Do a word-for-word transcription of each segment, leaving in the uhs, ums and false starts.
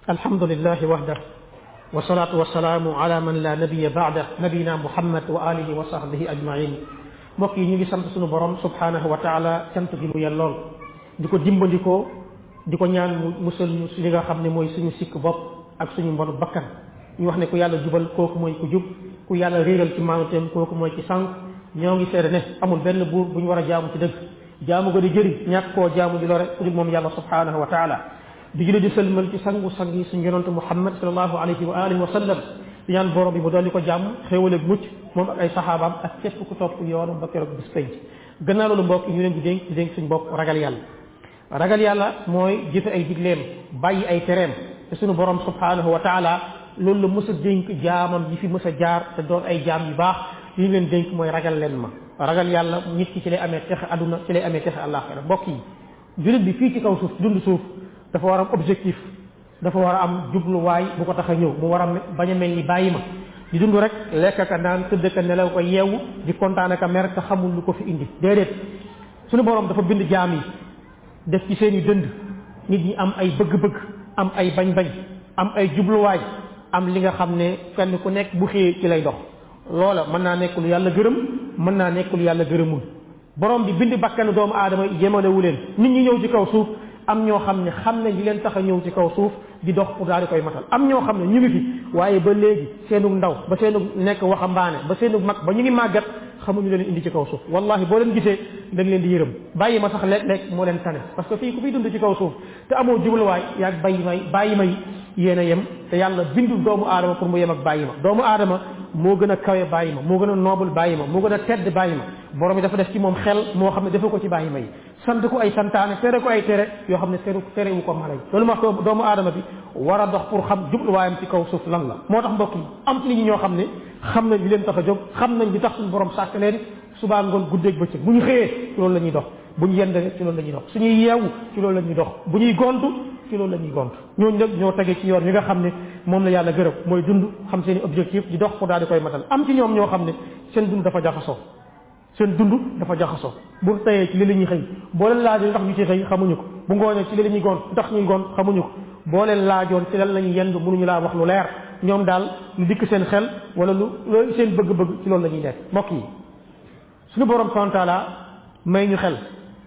الحمد لله وحده والصلاة والسلام على من لا نبي بعده نبينا محمد وآله وصحبه أجمعين mbokk yi ñu ngi sant suñu borom subhanahu wa taala cant gi mu yellool di ko dimbandikoo di ko ñaan mu musal ñu si li nga xam ne mooy suñu sikk bopp ak suñu mbonu bakkan ñu wax ne ku yàlla jubal kooku mooy ku jub ku yàlla réeral ci maanuteem kooku mooy ci sànq ñoo ngi seede ne amul benn buur bu ñu war a jaamu ci dëgg jaamu ko di jëriñ ñàkk koo jaamu di lore ku dul moom yàlla subhanahu wa taala di julli di sëlmal ci sangu sang yi suñu yonante muhammad sallallahu alayhi wa alihi wa sallam di ñaan borom bi mu dolli ko jàmm xéewal ak mucc moom ak ay saxaabaam ak képp ku topp yoonam ba keroog bis penc gannaaw loolu mbokk ñu leen di dénk di dénk suñu bopp ragal yàlla ragal yàlla mooy jëfe ay digleem bàyyi ay tereem te suñu borom subhanahu wa taala loolu la mës a dénk jaamam yi fi mës a jaar te doon ay jaam yu baax li ñu leen dénk mooy ragal leen ma ragal yàlla nit ki ci lay amee texe aduna ci lay amee texe àllaaxira mbokk yi jullit bi fii ci kaw suuf dund suuf dafa war a am objectif dafa war a am jubluwaay bu ko tax a ñëw mu war a bañ a mel ni bàyyi ma di dund rek lekk ka naan tëdd ka nelaw ko yeewu di kontaan ka mer te xamul lu ko fi indi déedéet suñu borom dafa bind jaam yi def ci seen i dënd nit ñi am ay bëgg-bëgg am ay bañ-bañ am ay jubluwaay am li nga xam ne kenn ku nekk bu xëyee ci lay dox loola mën naa nekk lu yàlla gërëm mën naa nekk lu yàlla gërëmul borom bi bind bakkanu doomu aadama yemalewu leen nit ñi ñëw ci kaw suuf am ñoo xam ne xam nañ li leen tax a ñëw ci kaw suuf di dox pour daal di koy matal am ñoo xam ne ñu ngi fi waaye ba léegi seenug ndaw ba seenug nekk waxambaane ba seenug mag ba ñu ngi màggat xamuñu leen indi ci kaw suuf wallahi boo leen gisee da nga leen di yërëm bàyyi ma sax léeg-léeg moo leen tane parce que fii ku fiy dund ci kaw suuf te amoo jubluwaay yaag bàyyi may bàyyi may yéen a yem te yàlla bindul doomu aadama pour mu yem ak bàyyi ma doomu aadama moo gën a kawe bàyyi ma moo gën a noobul bàyyi ma moo gën a tedd bàyyi ma borom bi dafa def ci moom xel moo xam ne dafa ko ci bàyyi ma yi sant ko ay santaane tere ko ay tere yoo xam ne tere tere wu ko mala yi loolu ma wax doomu aadama bi war a dox pour xam jubluwaayam ci kaw suuf lan la moo tax mbokk yi am ci nit ñi ñoo xam ne xam nañ li leen tax a jóg xam nañ li tax suñu borom sàkk leen subaa ngoon guddeeg bëccëg bu ñu xëyee ci loolu la ñuy dox bu ñu yendee ci loolu la ñuy dox suñuy yeewu ci loolu la ñuy dox bu ñuy gontu ci loolu la ñuy gont ñooñu nag ñoo tege ci yoon yi nga xam ne moom la yàlla gërëm mooy dund xam seen i objectif di dox pour daal di koy matal am ci ñoom ñoo xam ne seen dund dafa jaxasoo seen dund dafa jaxasoo bu tayee ci li la ñuy xëy boo leen laajoon ndax ñu ci xëy xamuñu ko bu ngoonee ci li la ñuy gont ndax ñuy gont xamuñu ko boo leen laajoon ci lan la ñuy yendu mënuñu laa wax lu leer ñoom daal lu dikk seen xel wala lu loolu seen bëgg-bëgg ci loolu la ñuy nekk mbokk yi suñu borom subhanahu wa taala may ñu xel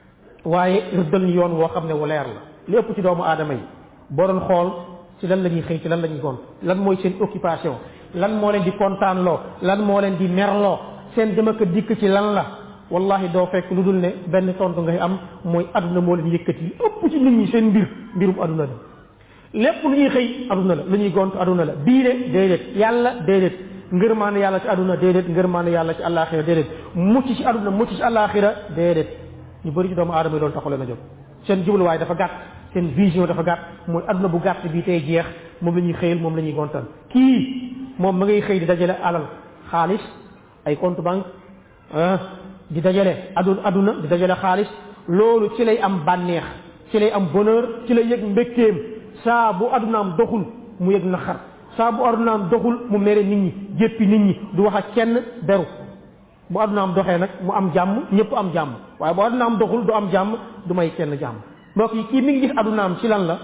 waaye rëddal ñu yoon woo xam ne wu leer la li ëpp ci doomu aadama yi boo doon xool ci lan la ñuy xëy ci lan la ñuy gont lan mooy seen occupation lan moo leen di kontaanloo lan moo leen di merloo seen dem ak dikk ci lan la wallahi doo fekk lu dul ne benn tontu ngay am mooy aduna moo leen yëkkati li ëpp ci nit ñi seen mbir mbirum aduna la lépp lu ñuy xëy aduna la lu ñuy gont aduna la diine déedéet yàlla déedéet ngërmaane yàlla ci aduna déedéet ngërmaane yàlla ci àllaaxira déedéet mucc ci aduna mucc ci àllaaxira déedéet ñu bëri ci doomu aadama yi loolu taxu leen a jóg seen jubluwaay dafa gàtt seen vision dafa gàtt mooy aduna bu gàtt bii tey jeex moom la ñuy xëyal moom la ñuy gontal kii moom ma ngay xëy di dajale alal xaalis ay compte banque ah di dajale aduna aduna di dajale xaalis loolu ci lay am bànneex ci lay am bonheur ci lay yëg mbégteem saa bu adunaam doxul mu yëg naqar saa bu adunaam doxul mu mere nit ñi jéppi nit ñi du wax ak kenn beru bu adunaam doxee nag mu am jàmm ñëpp am jàmm waaye bu adunaam doxul du am jàmm du may kenn jàmm mbokk yi kii mi ngi gis adunaam ci lan la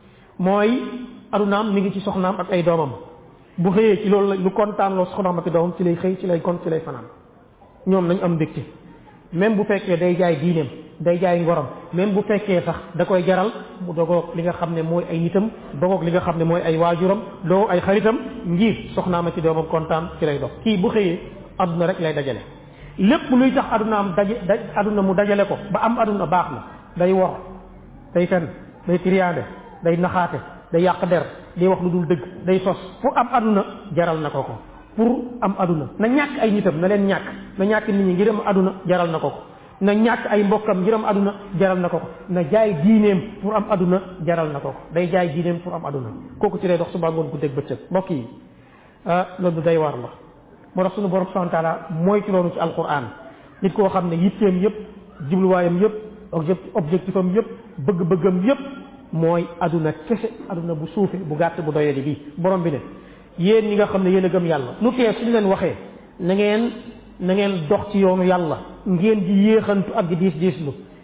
mooy adunaam mi ngi ci soxnaam ak ay doomam bu xëyee ci loolu la lu kontaan loo soxnaam ak doomam ci lay xëy ci lay kont ci lay fanaan ñoom nañ am mbégte même bu fekkee day jaay diineem day jaay ngorom même bu fekkee sax da koy jaral mu dogoog li nga xam ne mooy ay nitam dogoog li nga xam ne mooy ay waajuram dogoog ay xaritam ngir soxnaam ak ci doomam kontaan ci lay dox kii bu xëyee aduna rek lay dajale lépp luy tax adunaam daje daj aduna mu dajale ko ba am aduna baax na day wor day fen day triande day naxaate day yàq der day wax lu dul dëgg day sos pour am aduna jaral na ko ko pour am aduna na ñàkk ay nitam na leen ñàkk na ñàkk nit ñi ngir am aduna jaral na ko ko na ñàkk ay mbokkam ngir am aduna jaral na ko ko na jaay diineem pour am aduna jaral na ko ko day jaay diineem pour am aduna kooku ci lay dox suba ngoon guddeeg bëccëg mbokk yi ah loolu day war la moo tax suñu borom subhanahu wa taala mooy ci loolu ci alquran nit koo xam ne yitteem yëpp jubluwaayam yëpp objectifam yëpp bëgg-bëggam yëpp mooy aduna kese aduna bu suufe bu gàtt bu doyadi bi borom bi ne yéen ñi nga xam ne yéen a gëm yàlla lu tee suñu leen waxee na ngeen na ngeen dox ci yoonu yàlla ngeen di yéexantu ak di diis diislu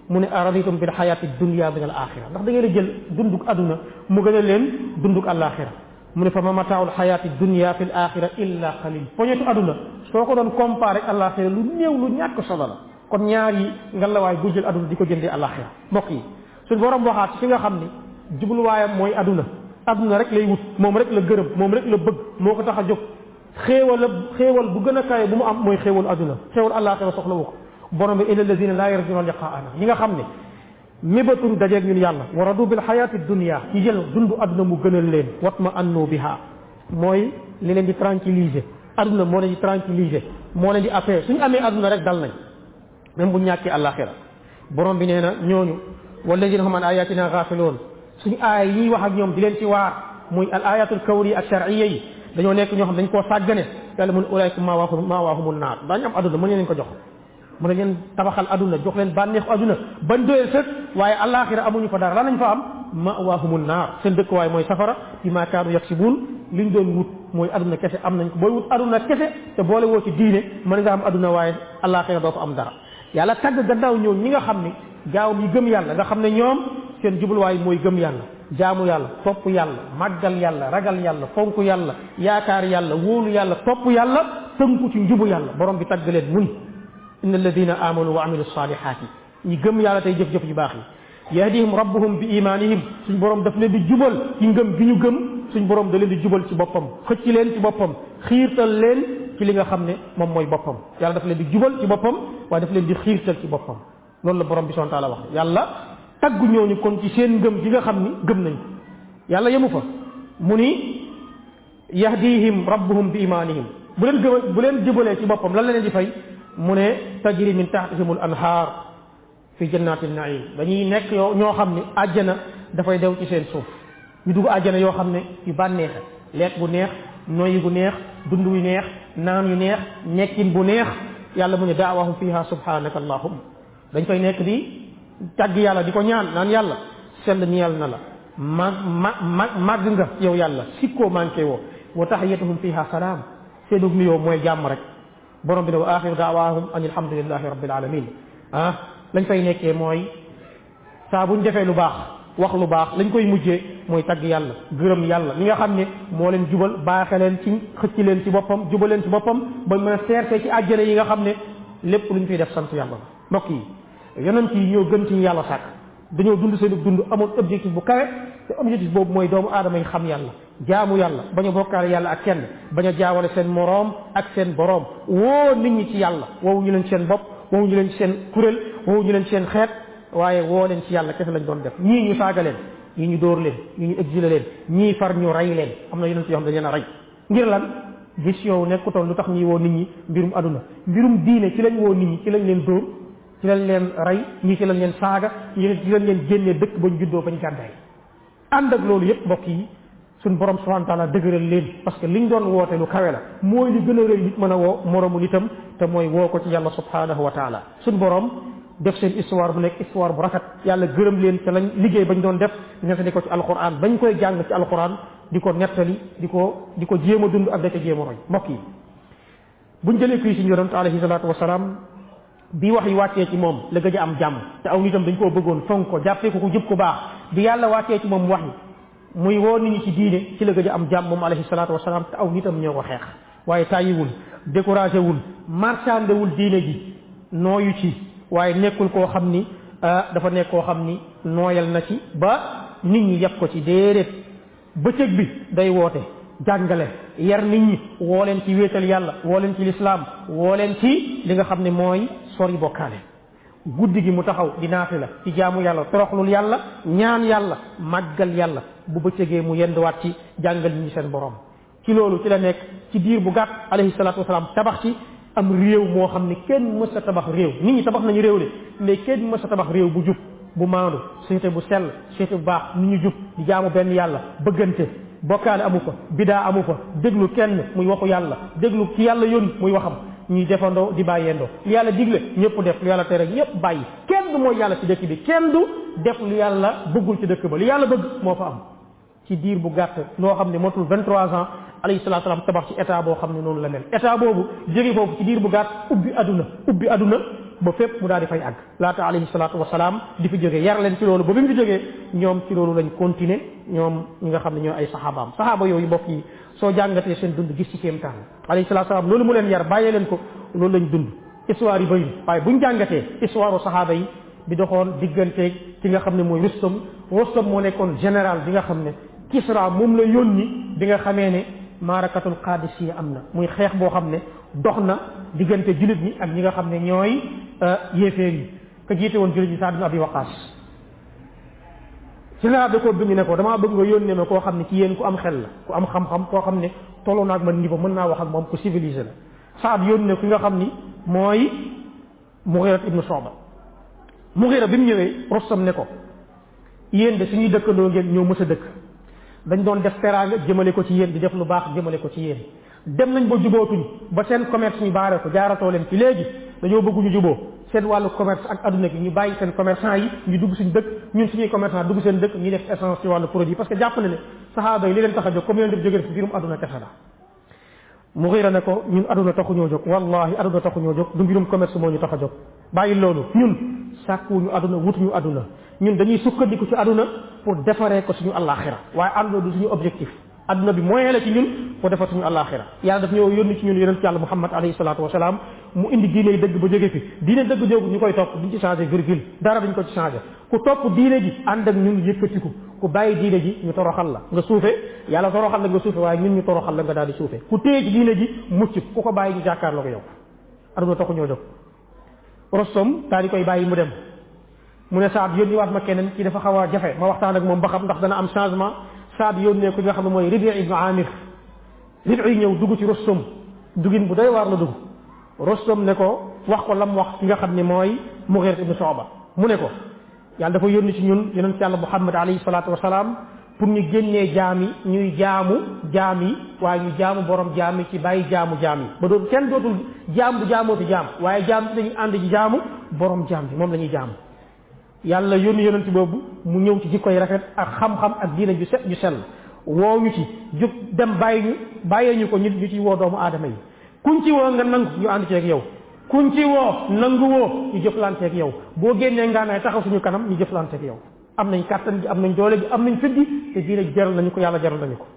mu ne araditum bil hayati dunya min al axira ndax da ngeen a jël dunduk aduna mu gën a leen dunduk àllaaxira mu ne fa ma mataaul hayati dunya fil axira illa qalil poñetu aduna soo ko doon comparé ak àllaaxira lu néew lu ñàkk solo la kon ñaar yi ngalawaay bu jël aduna di ko jëndee àllaaxira mbokk yi suñ borom waxaat ci fi nga xam ni jubluwaayam mooy aduna aduna rek lay wut moom rek la gërëm moom rek la bëgg moo ko tax a jóg xéewal xéewal bu gën a kawe bu mu am mooy xéewalu aduna xéewal àllaaxira soxla wu ko borom bi illa alladina laa yarjuna liqaana ñi nga xam ne mébatuñ dajeeg ñun yàlla wa radu bil xayaati dunia ci jël dundu aduna mu gënal leen watma annu biha mooy li leen di tranquilliser aduna moo leen di tranquilliser moo leen di appee suñu amee aduna rek dal nañ même bu ñàkkee àllaaxira borom bi nee na ñooñu walladina hum an ayatina gaafiloon suñu aay yi wax ak ñoom di leen ci waar muy al ayatul kawni ak shar'iyya yi dañoo nekk ñoo xam dañ koo sàggane yàlla mun ulaykum maa waahum maa waahumun naar daañu am aduna mën leen ko jox mën leen tabaxal aduna jox leen bànneexu aduna ban doyel sët waaye àllaaxira amuñu fa dara lan lañ fa am maa waahumun naar seen dëkkuwaay mooy safara bi maa kaanu yaksibuun liñ doon wut mooy aduna kese am nañ ko booy wut aduna kese te boole woo ci diine mën nga am aduna waaye àllaaxira doo fa am dara yàlla tagg gannaaw ñoom ñi nga xam ne gaaw yi gëm yàlla nga xam ne ñoom seen jubluwaay mooy gëm yàlla jaamu yàlla topp yàlla màggal yàlla ragal yàlla fonk yàlla yaakaar yàlla wóolu yàlla topp yàlla tënku ci njubu yàlla borom bi tagg leen mun inna alladina amanu wa amilu salihaati ñi gëm yàlla tey jëf-jëf yu baax yi yahdihim rabbuhum bi imanihim suñ borom daf leen di jubal ci ngëm gi ñu gëm suñ borom da leen di jubal ci boppam xëcc leen ci boppam xiirtal leen ci li nga xam ne moom mooy boppam yàlla daf leen di jubal ci boppam waaye daf leen di xiirtal ci boppam loolu la borom bi subhanahu wa taala wax yàlla taggu ñooñu kon ci seen ngëm gi nga xam ni gëm nañ ko yàlla yemu fa mu ni yahdihim rabbuhum bi imanihim bu leen gëm bu leen jubalee ci boppam lan la leen di fay mu ne tajri min tahtihimul anhaar fi jannatin naim dañuy nekk yoo ñoo xam ne àjjana dafay dew ci seen suuf ñu dugg àjjana yoo xam ne yu bànneexe lekk bu neex noyyi bu neex dund yu neex naan yu neex nekkin bu neex yàlla mu ne daawahum fiha subhanaka allahumma dañ fay nekk di tàgg yàlla di ko ñaan naan yàlla sell ñeel na la mag ma mag màgg nga yow yàlla sikkoo manqué woo wa tahiyyatuhum fiha salaam seenug nuyoo mooy jàmm rek borom bi ne wa axiru daawaahum an alhamdulillahi rabbil alamin ah lañ fay nekkee mooy saa buñ defee lu baax wax lu baax lañ koy mujjee mooy tagg yàlla gërëm yàlla mi nga xam ne moo leen jubal baaxe leen ci xëcc leen ci boppam jubal leen ci boppam ba mën a seerte ci àjjana yi nga xam ne lépp luñ fiy def sant yàlla mbokk yi yonent yi ñoo gën ci yàlla sàkk dañoo dund seen dund amoon objectif bu kawe te objectif boobu mooy doomu aadama yi xam yàlla jaamu yàlla bañ a bokkaale yàlla ak kenn bañ a jaawale seen moroom ak seen boroom woo nit ñi ci yàlla woowu ñu leen ci seen bopp woowu ñu leen ci seen kuréel woowu ñu leen ci seen xeet waaye woo leen ci yàlla kese lañ doon def ñii ñu saaga leen ñii ñu dóor leen ñii ñu exilé leen ñii far ñu rey leen am na yonent yoo xam dañ leen a rey ngir lan gis yow nekkutoon lu tax ñuy woo nit ñi mbirum aduna mbirum diine ci lañ woo nit ñi ci lañ leen dóor ci lañ leen rey ñii ci lañ leen saaga ñii ci lañ leen génnee dëkk bañ juddoo bañ gàddaay ànd ak loolu yëpp mbokk yi suñ borom subhanahu wa taala dëgëral leen parce que liñ doon woote lu kawe la mooy li gën a rëy nit mën a woo moromu nitam te mooy woo ko ci yàlla subhanahu wa taala suñ borom def seen histoire bu nekk histoire bu rafet yàlla gërëm leen te lañ liggéey bañ doon def nettali ko ci alquran bañ koy jàng ci alquran di ko nettali di ko di ko jéem a dund ak da ca jéem a roy mbokk yi buñ jëlee fii si yonent alayhi salaatu wasalaam bi wax yi wàccee ci moom la gëj a am jàmm te aw nitam dañ koo bëggoon fonk ko jàppee ko ku jub ku baax bi yàlla wàccee ci moom wax yi muy woo nit ñi ci diine ci la gëj a am jàmm moom alayhi salaatu wasalaam te aw nitam ñoo ko xeex waaye tàyyiwul découragé wul marchandewul diine ji nooyu ci waaye nekkul koo xam ni dafa nekk koo xam ni nooyal na ci ba nit ñi yàpp ko ci déedéet bëccëg bi day woote jàngale yar nit ñi woo leen ci wéetal yàlla woo leen ci lislaam woo leen ci li nga xam ne mooy sori bokkaale guddi gi mu taxaw di naafi la ci jaamu yàlla toroxlul yàlla ñaan yàlla màggal yàlla bu bëccëgee mu yenduwaat ci jàngal ñi seen borom ci loolu ci la nekk ci diir bu gàtt alayhi salaatu wasalaam tabax ci am réew moo xam ne kenn mës a tabax réew nit ñi tabax nañu réew de mais kenn mës a tabax réew bu jub bu maandu société bu sell société bu baax nit ñu jub di jaamu benn yàlla bëggante bokkaale amu fa bidaa amu fa déglu kenn muy waxu yàlla déglu ci yàlla yónni muy waxam ñuy defandoo di bàyyeendoo lu yàlla digle ñëpp def lu yàlla tere ñëpp bàyyi kenn du mooy yàlla ci dëkk bi kenn du def lu yàlla bëggul ci dëkk ba lu yàlla bëgg moo fa am ci diir bu gàtt loo xam ne motul vingt-trois ans alayhi salaatu salaam tabax ci état boo xam ne noonu la mel état boobu jóge foofu ci diir bu gàtt ubbi aduna ubbi aduna ba fépp mu daal di fay àgg laata alayhi salaatu wasalaam di fi jógee yar leen ci loolu ba bi mu fi jógee ñoom ci loolu lañ continuer ñoom ñi nga xam ne ñoo ay saxaabaam saxaaba yooyu mbokk yi soo jàngatee seen dund gis ci kéemtaan alayhi salaatu wasalaam loolu mu leen yar bàyyee leen ko loolu lañ dund histoire yi bëri waaye buñ jàngatee histoire saxaaba yi bi doxoon digganteeg ki nga xam ne mooy Rustum Rustum moo nekkoon général bi nga xam ne Kisra moom la yónni bi nga xamee ne maarakatul Qadisiya am na muy xeex boo xam ne dox na diggante jullit ñi ak ñi nga xam ne ñooy yéeféer yi ka jiite woon jullit ñi Saad ibn Abi Waqaas général da ko bind ne ko damaa bëgg nga yónnee ma koo xam ne ci yéen ku am xel la ku am xam-xam koo xam ne tolloo naag man niveau mën naa wax ak moom ku civilisé la Saad yónnee ki nga xam ni mooy Mughira ibn Shu'ba Mughira bi mu ñëwee Rustam ne ko yéen de suñuy dëkkandoo ngeen ñoo mës a dëkk dañ doon def teraanga jëmale ko ci yéen di def lu baax jëmale ko ci yéen dem nañ ba jubootuñ ba seen commerce ñu baare ko jaaratoo leen ci léegi dañoo bëgg ñu juboo seen wàllu commerce ak adduna gi ñu bàyyi seen commerçant yi ñu dugg suñ dëkk ñun suñuy commerçant dugg seen dëkk ñu def essence ci wàllu produit parce que jàpp na ne saxaaba yi li leen tax a jóg comme yéen def jógee fi biirum adduna kese la Mughira ne ko ñun adduna taxuñoo jóg wallahi adduna taxuñoo jóg du mbirum commerce moo ñu tax a jóg bàyyi loolu ñun sàkkuwuñu adduna wutuñu adduna ñun dañuy sukkandiku ci adduna pour defaree ko suñu àllaaxira waaye adduna du suñu objectif adduna bi moyen la ci ñun pour defar suñu àllaaxira yàlla daf ñoo yónni ci ñun yonent yàlla Muhammad alayhi salaatu wasalaam mu indi diine yi dëgg ba jóge fi diine dëgg jógu ñu koy topp duñ ci changé virgule dara duñ ko ci changé ku topp diine ji ànd ak ñun yëkkatiku ku bàyyi diine ji ñu toroxal la nga suufe yàlla toroxal la nga suufe waaye ñun ñu toroxal la nga daal di suufe ku téye ci diine ji mucc ku ko bàyyi ñu jàkkaarloo ko yow adduna taxu ñoo jóg Rustum daal di koy bàyyi mu dem mu ne Saad yónni waat ma keneen ci dafa xaw a jafe ma waxtaan ak moom ba xam ndax dana am changement Saad yónnee ko nga xam ne mooy Ribi ibn Amir Ribi ñëw dugg ci Rustum dugin bu doy waar la dugg Rustum ne ko wax ko lam wax ki nga xam ne mooy Mughira ibn Shu'ba mu ne ko yàlla dafa yónni ci ñun yonent yàlla Muhammad alayhi salaatu wasalaam pour ñu génnee jaam yi ñuy jaamu jaam yi waaye ñu jaamu borom jaam yi ci bàyyi jaamu jaam yi ba doon kenn dootul jaam du jaamooti jaam waaye jaam bi dañuy ànd ci jaamu borom jaam bi moom la ñuy jaamu yàlla yónni yonent boobu mu ñëw ci jikkoy rafet ak xam-xam ak diina ju set ju sell woo ñu ci jóg dem bàyyi ñu bàyyee ñu ko ñu ñu ci woo doomu aadama yi kuñ ci woo nga nangu ñu ànd ceeg yow kuñ ci woo nangu woo ñu jëflanteeg yow boo génnee ngaanaay taxaw suñu kanam ñu jëflanteeg yow am nañ kàttan gi am nañ doole gi am nañ fit gi te diina jaral nañu ko yàlla jaral nañu ko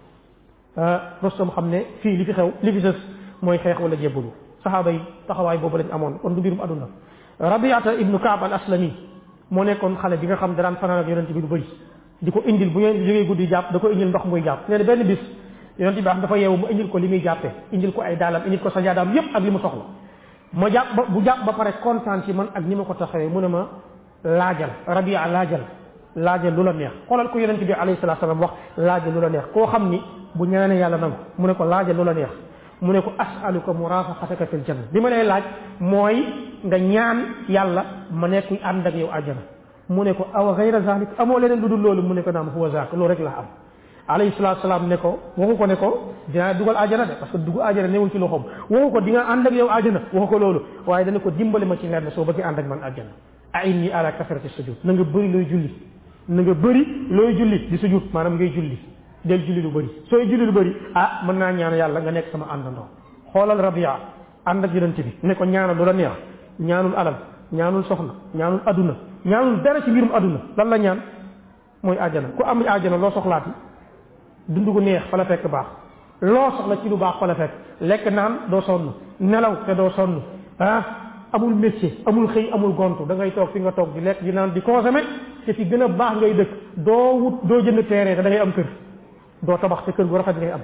Rustum xam ne fii li fi xew li fi sës mooy xeex wala jébbalu saxaaba yi taxawaay boobu lañ amoon kon du mbirum aduna Rabiata ibnu Kaab al Aslami moo nekkoon xale bi nga xam daan fanaan ak yonent bi lu bëri di ko indil bu ngeen jógee guddi jàpp da ko indil ndox muy jàpp nee na benn bis yonent bi am dafa yeewu mu indil ko li muy jàppee indil ko ay daalam indil ko sajaadaam yépp ak li mu soxla ma jàpp ba bu jàpp ba pare kontaan ci man ak ni ma ko taxawee mu ne ma laajal Rabia laajal laajal lu la neex xoolal ko yonent bi alayhi salaatu salaam wax laajal lu la neex koo xam ni bu ñaanee yàlla nangu mu ne ko laajal lu la neex mu ne ko as'aluka murafaqataka fil janna li ma lay laaj mooy nga ñaan yàlla ma nekk ànd ak yow àjjana mu ne ko aw ghayra zalik amoo leneen lu dul loolu mu ne ko naam huwa zak loolu rek laa am alayhi salaatu salaam ne ko waxu ko ne ko dinaa dugal àjjana de parce que dugg àjjana newul ci loxoom waxu ko di nga ànd ak yow àjjana waxu ko loolu waaye dana ko dimbali ma ci lenn soo bëggee ànd ak man àjjana a'inni ala kasrati sujud na nga bëri looy julli na nga bëri looy julli di sujud maanaam ngay julli del julli lu bëri sooy julli lu bëri ah mën naa ñaan yàlla nga nekk sama àndandoo xoolal Rabia ànd ak yonent bi ne ko ñaanal lu la neex ñaanul alal ñaanul soxna ñaanul aduna ñaanul dara ci mbirum aduna lan la ñaan mooy àjjana ku am àjjana loo soxlaati dund gu neex fa la fekk baax loo soxla ci lu baax fa la fekk lekk naan doo sonn nelaw te doo sonn ah amul métier amul xëy amul gontu da ngay toog fi nga toog di lekk di naan di consommer te fi gën a baax ngay dëkk doo wut doo jënd terrain te da ngay am kër doo tabax te kër gu rafet ngay am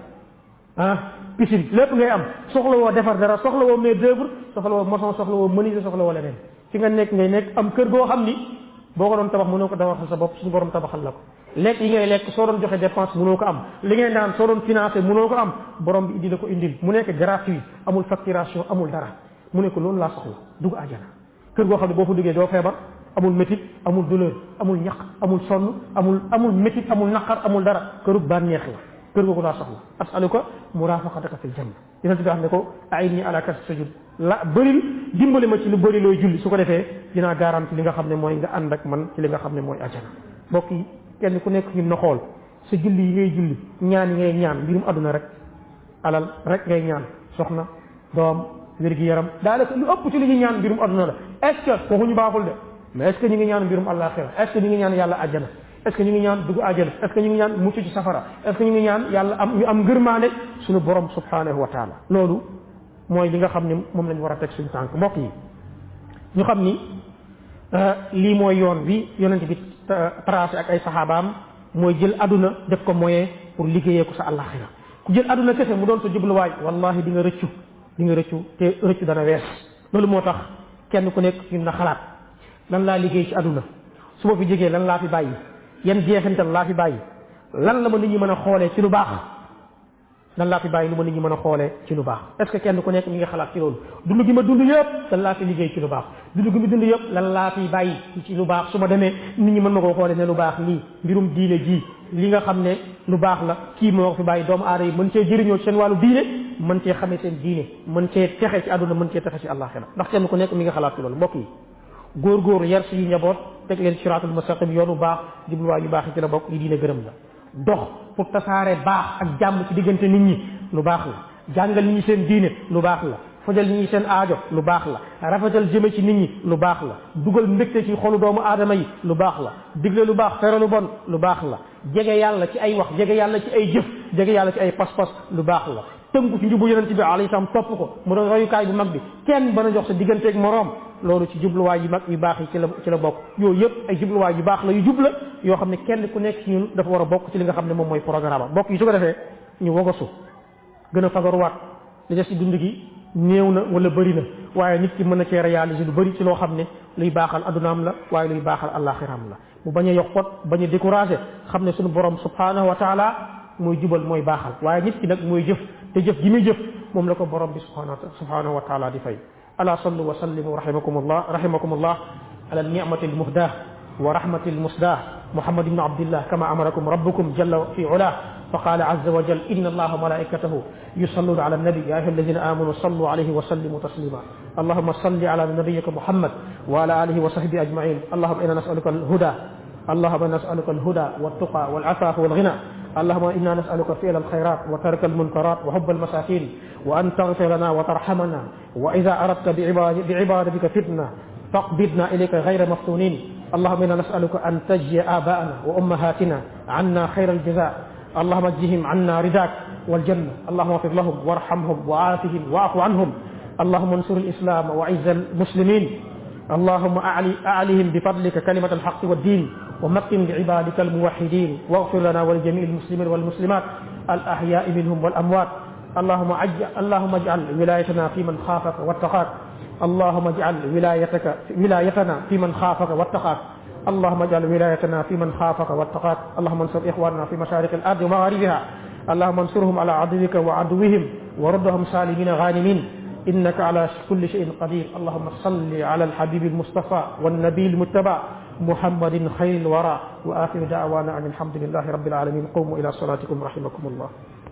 ah piscine lépp ngay am soxla woo defar dara soxla woo main d'œuvre soxla woo maçon soxla woo menuisier soxla woo leneen fi nga nekk ngay nekk am kër goo xam ni boo ko doon tabax mënoo ko tabaxal sa bopp suñu borom tabaxal la ko lekk yi ngay lekk soo doon joxe dépense mënoo ko am li ngay naan soo doon financé mënoo ko am borom bi indi la ko indil mu nekk gratuit amul facturation amul dara mu ne ko loolu laa soxla dugg àjjana kër goo xam ne boo fa duggee doo feebar amul métit amul douleur amul ñaq amul sonn amul amul métit amul naqar amul dara këru bànneex la kër googu laa soxla as'aluka murafaqataka fil janna yonent bi wax ne ko a'inni ala kasrati sujud la bëril dimbali ma ci lu bëri looy julli su ko defee dinaa garanti li nga xam ne mooy nga ànd ak man ci li nga xam ne mooy àjjana mbokk yi kenn ku nekk ñun na xool sa julli yi ngay julli ñaan yi ngay ñaan mbirum àdduna rek alal rek ngay ñaan soxna doom wér-gi-yaram daanaka lu ëpp ci li ñuy ñaan mbirum àdduna la est ce que waxuñu baaxul de mais est ce que ñu ngi ñaan mbirum àllaaxira est ce que ñu ngi ñaan yàlla àjjana est ce que ñu ngi ñaan dugg àjjana est ce que ñu ngi ñaan mucc ci safara est ce que ñu ngi ñaan yàlla am ñu am ngërmaande suñu borom subhanahu wa taala loolu mooy li nga xam ne moom lañ war a teg suñu tànk mbokk yi ñu xam ni lii mooy yoon bi yonent bi tracé ak ay saxaabaam mooy jël aduna def ko moyen pour liggéeyee ko sa àllaaxira ku jël aduna kese mu doon sa jubluwaay wallahi di nga rëccu di nga rëccu te rëccu dana wees loolu moo tax kenn ku nekk ñun na xalaat lan laa liggéey ci aduna su ma fi jógee lan laa fi bàyyi yan jeexintal laa fi bàyyi lan la ma nit ñi mën a xoolee ci lu baax lan laa fi bàyyi lu ma nit ñi mën a xoolee ci lu baax est ce que kenn ku nekk mi ngi xalaat ci loolu dund gi ma dund yëpp lan laa fi liggéey ci lu baax dund gi ma dund yëpp lan laa fi bàyyi ci lu baax su ma demee nit ñi mën ma koo xoolee ne lu baax lii mbirum diine ji li nga xam ne lu baax la kii moo ko fi bàyyi doomu aada yi mën cee jëriñoo ci seen wàllu diine mën cee xamee seen diine mën cee texe ci àdduna mën cee texe ci àllaaxira ndax kenn ku nekk mi nga xalaat ci loolu mbokk yi góor-góor yar suñu njaboot teg leen siraatul mustaqim yoonu baax jubluwaay yu baax yi ci la bokk yi diine gërëm la dox pour tasaare baax ak jàmm ci diggante nit ñi lu baax la jàngal nit ñi seen diine lu baax la fajal nit ñi seen aajo lu baax la rafetal jëme ci nit ñi lu baax la dugal mbégte ci xolu doomu aadama yi lu baax la digle lu baax tere lu bon lu baax la jege yàlla ci ay wax jege yàlla ci ay jëf jege yàlla ci ay pas-pas lu baax la tënku ci njubu yonent bi alayhi salaam topp ko mu doon royukaay bu mag bi kenn bana jox sa digganteeg moroom loolu ci jubluwaay yu mag yu baax yi ci la ci la bokk yooyu yëpp ay jubluwaay yu baax la yu jubla yoo xam ne kenn ku nekk ci ñun dafa war a bokk ci li nga xam ne moom mooy programme bokk yi su ko defee ñu wogosu gën a fagaruwaat li des ci dund gi néew na wala bëri na waaye nit ki mën na cee réaliser lu bëri ci loo xam ne luy baaxal addunaam la waaye luy baaxal àllaaxiraam la mu bañ a yokkot bañ a découragé xam ne suñu borom subhanahu wa taala mooy jubal mooy baaxal waaye nit ki nag mooy jëf te jëf gi muy jëf moom la ko borom bi subhanahu wa taala di fay ala sallu wa sallimu rahimakumullah rahimakumullah ala ni'mati almuhdah wa rahmati almusdah muhammad ibn abdillah kama amarakum rabbukum jalla fi ulah فقال عز وجل إن الله وملائكته يصلون على النبي يا أيها الذين آمنوا صلوا عليه وسلموا تسليما اللهم صل على نبيك محمد وعلى آله وصحبه أجمعين اللهم إنا نسألك الهدى اللهم إنا نسألك الهدى والتقى والعفاف والغنى اللهم إنا نسألك فعل الخيرات وترك المنكرات وحب المساكين وأن تغفر لنا وترحمنا وإذا أردت بعبادتك فتنة فاقبضنا إليك غير مفتونين اللهم إنا نسألك أن تجزي آباءنا وأمهاتنا عنا خير الجزاء اللهم اجزهم عنا رداك والجنة اللهم اغفر لهم وارحمهم وعافهم واعف عنهم اللهم انصر الإسلام وعز المسلمين اللهم أعلي أعلهم بفضلك كلمة الحق والدين ومكن لعبادك الموحدين واغفر لنا ولجميع المسلمين والمسلمات الأحياء منهم والأموات اللهم اجعل اللهم اجعل ولايتنا في من خافك واتقاك اللهم اجعل ولايتك ولايتنا في من خافك واتقاك اللهم اجعل ولايتنا في من خافك واتقاك اللهم انصر إخواننا في مشارق الأرض ومغاربها اللهم انصرهم على عدوك وعدوهم وردهم سالمين غانمين إنك على كل شيء قدير اللهم صل على الحبيب المصطفى والنبي المتبع محمد خير الورى وآخر دعوانا أن الحمد لله رب العالمين قوموا إلى صلاتكم رحمكم الله